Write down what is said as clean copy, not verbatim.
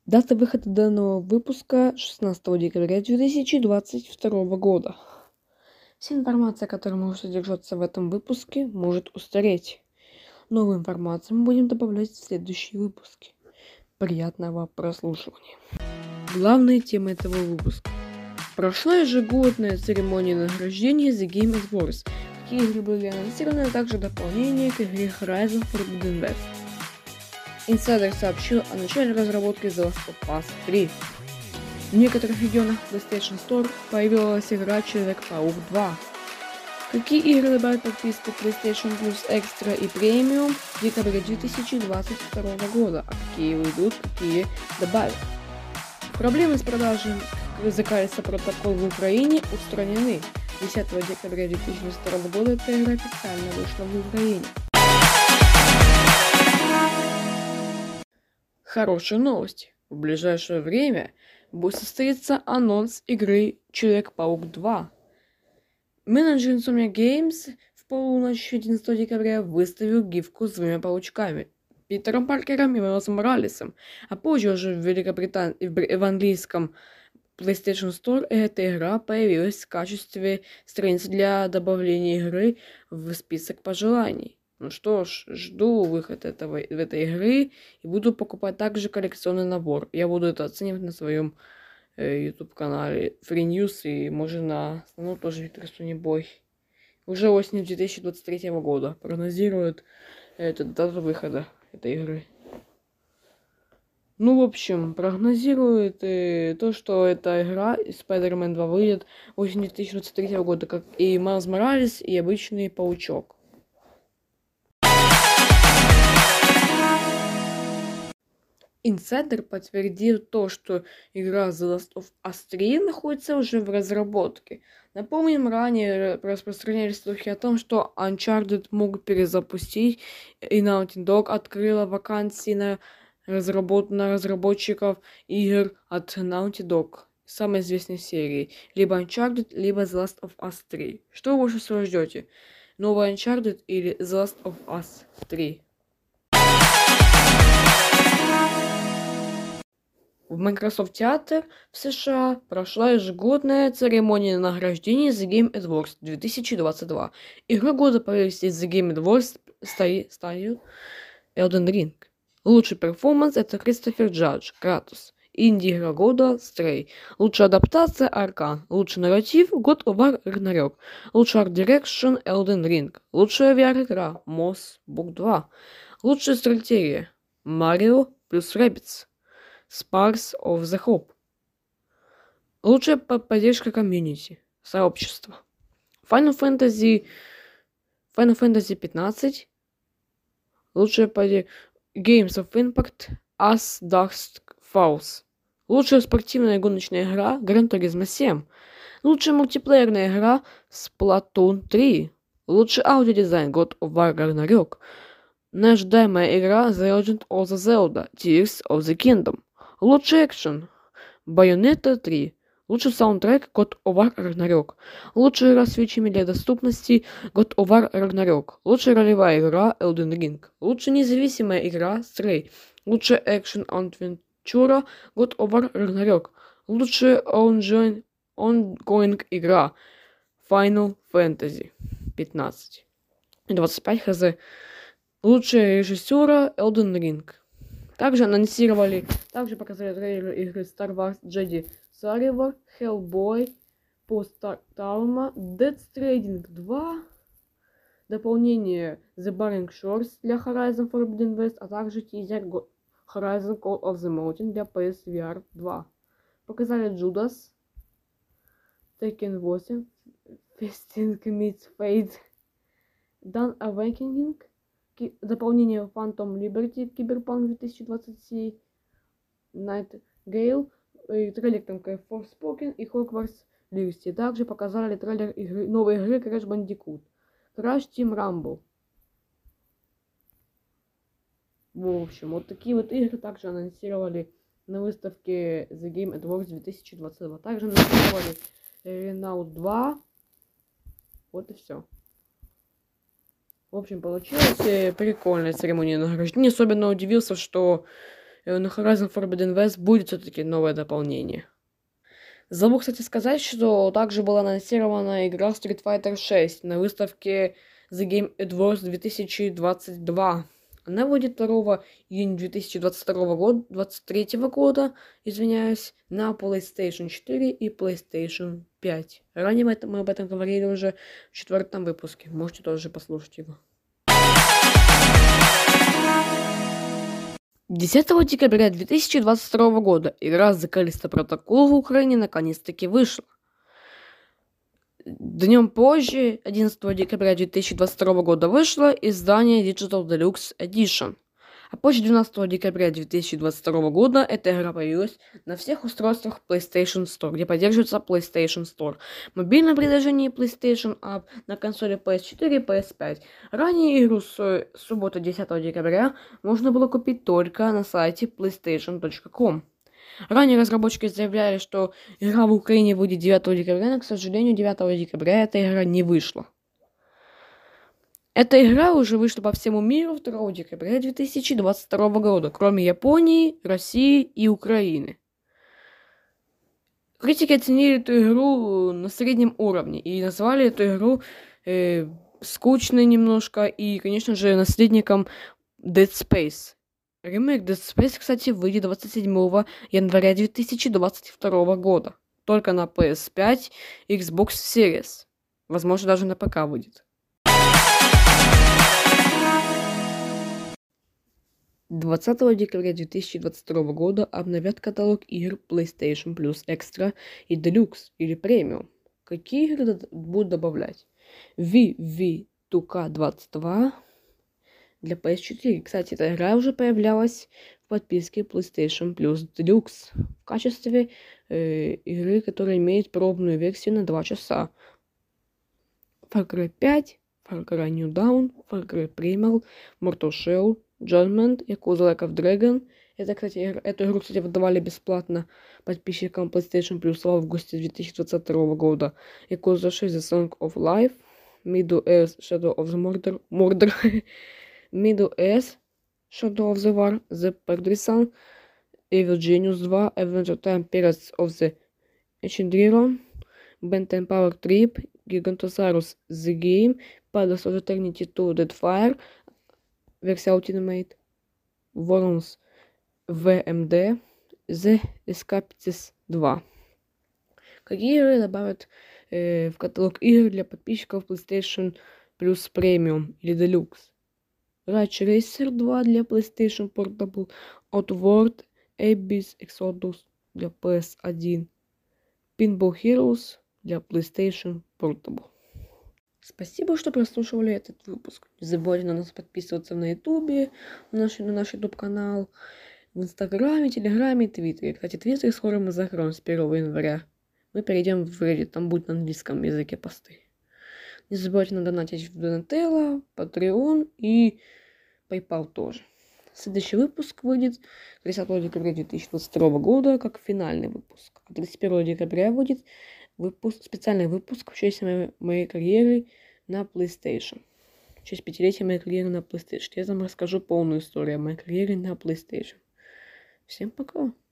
Дата выхода данного выпуска 16 декабря 2022 года. Вся информация, которая может содержаться в этом выпуске, может устареть. Новую информацию мы будем добавлять в следующие выпуски. Приятного прослушивания. Главные темы этого выпуска. Прошла ежегодная церемония награждения The Game Awards. Какие игры были анонсированы, а также дополнение к игре Horizon Forbidden West. Insider сообщил о начале разработки The Last of Us 3. В некоторых регионах PlayStation Store появилась игра Человек-паук 2. Какие игры добавят подписку PlayStation Plus Extra и Premium в декабре 2022 года, а какие уйдут, какие добавят. Проблемы с продажей языка протокол в Украине устранены. 10 декабря 2022 года эта игра официально вышла в Украине. Хорошие новости. В ближайшее время будет состояться анонс игры Человек-паук 2. Менеджер Insomniac Games в полночь 11 декабря выставил гифку с двумя паучками, Питером Паркером и Майлзом Моралесом, а позже уже в Великобритании в английском PlayStation Store эта игра появилась в качестве страницы для добавления игры в список пожеланий. Ну что ж, жду выход этой игры и буду покупать также коллекционный набор. Я буду это оценивать на своем YouTube канале Free News и может на основном тоже Виктор Сунебой. Уже осенью 2023 года прогнозируют дату выхода этой игры. Ну, в общем, прогнозирует то, что эта игра Spider-Man 2 выйдет осенью 2023 года, как и Майлз Моралес, и обычный паучок. Инсайдер подтвердил то, что игра The Last of Us 3 находится уже в разработке. Напомним, ранее распространялись слухи о том, что Uncharted могут перезапустить, и Naughty Dog открыла вакансии на разработчиков игр от Naughty Dog, самой известной серии, либо Uncharted, либо The Last of Us 3. Что вы больше всего ждете? Новый Uncharted или The Last of Us 3? В Microsoft Theater в США прошла ежегодная церемония награждения The Game Awards 2022. Игрой года по версии The Game Awards стал Elden Ring. Лучший перформанс — это Кристофер Джадж, Кратос. Инди-игра года — Stray. Лучшая адаптация — Аркан. Лучший нарратив — God of War Ragnarok. Лучший арт-дирекшн — Elden Ring. Лучшая VR-игра — Moss Book 2. Лучшая стратегия — Mario плюс Rabbids. Sparks of the Hope. Лучшая поддержка комьюнити. Сообщества. Final Fantasy 15. Лучшая поддержка Games of Impact. As Dusk Falls. Лучшая спортивная гоночная игра Gran Turismo 7. Лучшая мультиплеерная игра Splatoon 3. Лучший аудиодизайн God of War Ragnarok. Неожидаемая игра The Legend of the Zelda Tears of the Kingdom. Лучший экшен Bayonetta 3. Лучший саундтрек God of War Ragnarok. Лучшая игра с фичами для доступности God of War Ragnarok. Лучшая ролевая игра Elden Ring. Лучшая независимая игра Stray. Лучшая экшен адвенчура God of War Ragnarok. Лучшая ongoing игра Final Fantasy 15. 25 хз. Лучшая режиссера Elden Ring. Также показали трейлер игры Star Wars Jedi Survivor, Hellboy, Post-Trauma, Death Stranding 2, дополнение The Burning Shores для Horizon Forbidden West, а также тизер Horizon Call of the Mountain для PSVR 2. Показали Judas, Tekken 8, Festing Meets Fate, Dawn Awakening, дополнение Phantom Liberty, Cyberpunk 2027, Nightingale, трейлер Forspoken и Hogwarts Legacy. Также показали трейлер новой игры Crash Bandicoot, Crash Team Rumble. В общем, вот такие вот игры также анонсировали на выставке The Game Awards 2022. Также анонсировали Renault 2. Вот и все. В общем, получилась прикольная церемония награждения. Особенно удивился, что на Horizon Forbidden West будет все-таки новое дополнение. Забыл, кстати, сказать, что также была анонсирована игра Street Fighter 6 на выставке The Game Awards 2022. Она выйдет 2 июня 2022 года, 2023 года, извиняюсь, на PlayStation 4 и PlayStation 5. Ранее мы об этом говорили уже в 4-м выпуске. Можете тоже послушать его. 10 декабря 2022 года игра The Callisto Protocol в Украине наконец-таки вышла. Днем позже, 11 декабря 2022 года, вышло издание Digital Deluxe Edition. А позже 12 декабря 2022 года эта игра появилась на всех устройствах PlayStation Store, где поддерживается PlayStation Store, мобильном приложении PlayStation App, на консоли PS4 и PS5. Ранее игру с субботы 10 декабря можно было купить только на сайте PlayStation.com. Ранее разработчики заявляли, что игра в Украине выйдет 9 декабря, но, к сожалению, 9 декабря эта игра не вышла. Эта игра уже вышла по всему миру 2 декабря 2022 года, кроме Японии, России и Украины. Критики оценили эту игру на среднем уровне и назвали эту игру скучной немножко и, конечно же, наследником Dead Space. Ремейк Dead Space, кстати, выйдет 27 января 2022 года. Только на PS5 и Xbox Series. Возможно, даже на ПК выйдет. 20 декабря 2022 года обновят каталог игр PlayStation Plus Extra и Deluxe или Premium. Какие игры будут добавлять? VV2K22 для PS4. Кстати, эта игра уже появлялась в подписке PlayStation Plus Deluxe в качестве игры, которая имеет пробную версию на 2 часа. Far Cry 5, Far Cry New Dawn, Far Cry Primal, Mortal Shell, Judgment, Yakuza Like of Dragon. Это, кстати, эту игру, кстати, выдавали бесплатно подписчикам PlayStation Plus в августе 2022 года. Yakuza 6 The Song of Life, Middle Earth Shadow of the Mordor, Middle Earth Shadow of the War, The Partisan, Evil Genius 2, Adventure Time Pirates of the Ancient Era, Ben 10 Power Trip, Gigantosaurus The Game, Pillars of Eternity 2 Deadfire, версия Ultimate, Worms VMD, The Escapists 2. Какие игры добавят в каталог игр для подписчиков PlayStation Plus Premium или Deluxe? Ridge Racer 2 для PlayStation Portable, Outward, Abyss Exodus для PS1, Pinball Heroes для PlayStation Portable. Спасибо, что прослушивали этот выпуск. Не забывайте на нас подписываться на Ютубе, на наш Ютуб-канал, в Инстаграме, Телеграме, Твиттере. Кстати, Твиттер скоро мы закроем с 1 января. Мы перейдем в Reddit, там будет на английском языке посты. Не забывайте надонатить в Donatello, Patreon и PayPal тоже. Следующий выпуск выйдет 30 декабря 2022 года, как финальный выпуск. А 31 декабря выйдет специальный выпуск в честь моей карьеры на PlayStation. В честь 5-летия моей карьеры на PlayStation. Я вам расскажу полную историю о моей карьере на PlayStation. Всем пока!